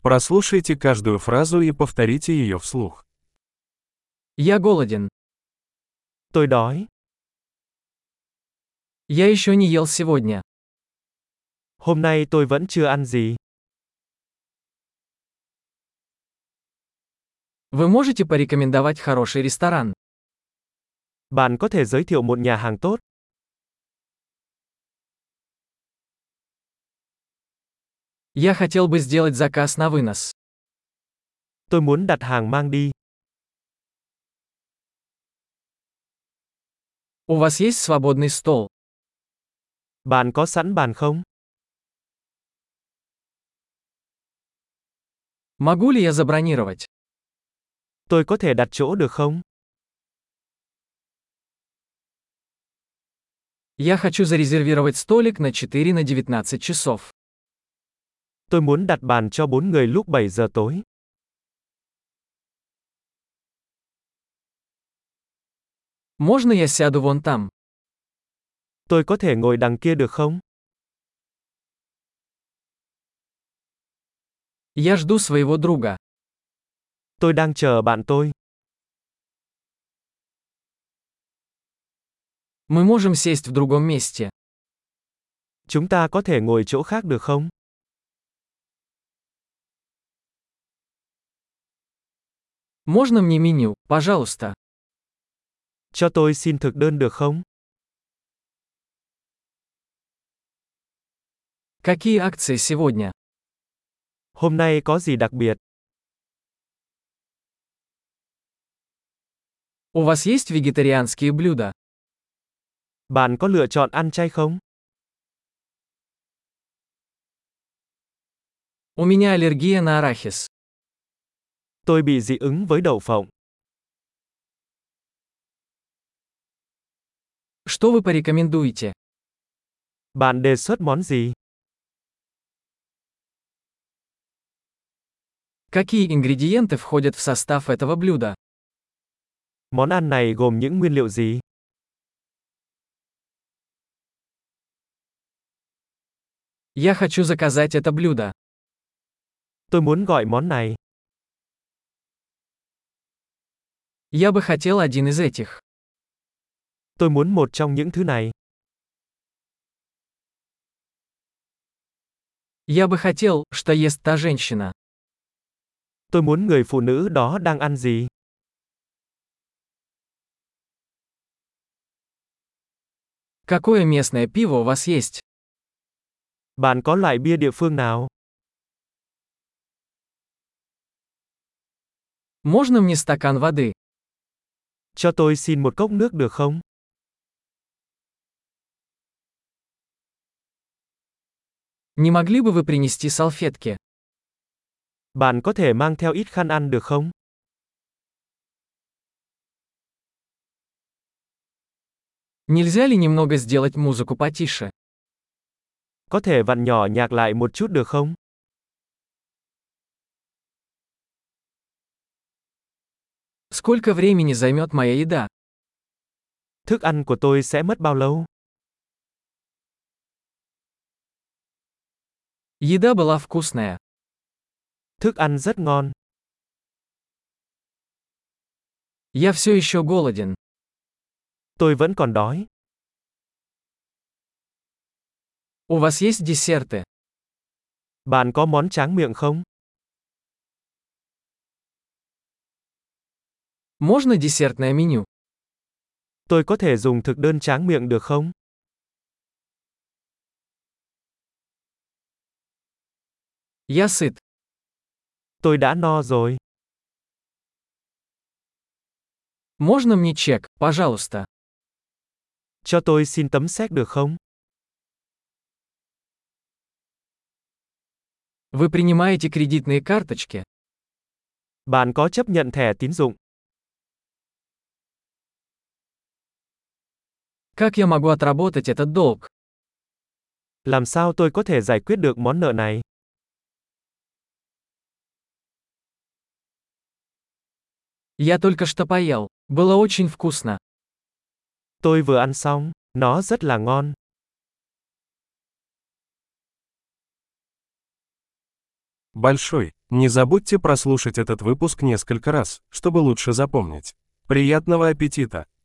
Прослушайте каждую фразу и повторите ее вслух. Я голоден. Tôi đói. Я еще не ел сегодня. Hôm nay tôi vẫn chưa ăn gì. Вы можете порекомендовать хороший ресторан? Bạn có thể giới thiệu một nhà hàng tốt. Я хотел бы сделать заказ на вынос. Tôi muốn đặt hàng mang đi. У вас есть свободный стол? Bạn có sẵn bàn không? Могу ли я забронировать? Tôi có thể đặt chỗ được không? Я хочу зарезервировать столик на 4 на 19 часов. Tôi muốn đặt bàn cho 4 người lúc 7 giờ tối. Можно я сяду вон там? Tôi có thể ngồi đằng kia được không? Я жду своего друга. Tôi đang chờ bạn tôi. Мы можем сесть в другом месте. Chúng ta có thể ngồi chỗ khác được không? Можно мне меню, пожалуйста? Cho tôi xin thực đơn được không? Какие акции сегодня? Hôm nay có gì đặc biệt? У вас есть вегетарианские блюда? Bạn có lựa chọn ăn chay không? У меня аллергия на арахис. Tôi bị dị ứng với đậu phộng. Что вы порекомендуете? Bạn đề xuất món gì? Какие ингредиенты входят в состав этого блюда? Món ăn này gồm những nguyên liệu gì? Я хочу заказать это блюдо. Tôi muốn gọi món này. Я бы хотел один из этих. Tôi muốn một trong những thứ này. Я бы хотел, что ест та женщина. Tôi muốn người phụ nữ đó đang ăn gì? Какое местное пиво у вас есть? Bạn có loại bia địa phương nào? Можно мне стакан воды? Cho tôi xin một cốc nước được không? Не могли бы вы принести салфетки? Bạn có thể mang theo ít khăn ăn được không? Нельзя ли немного сделать музыку потише? Có thể vặn nhỏ nhạc lại một chút được không? Сколько времени займет моя еда? Thức ăn của tôi sẽ mất bao lâu? Еда была вкусная. Thức ăn rất ngon. Я все еще голоден. Tôi vẫn còn đói. У вас есть десерты? Bạn có món tráng miệng không? Можно десертное меню? Tôi có thể dùng thực đơn tráng miệng được không? Я сыт. Tôi đã no rồi. Можно мне чек, пожалуйста? Cho tôi xin tấm séc được không? Вы принимаете кредитные карточки? Bạn có chấp nhận thẻ tín dụng? Как я могу отработать этот долг? Làm sao tôi có thể giải quyết được món nợ này? Я только что поел. Было очень вкусно. Tôi vừa ăn xong, nó rất là ngon. Большой. Не забудьте прослушать этот выпуск несколько раз, чтобы лучше запомнить. Приятного аппетита!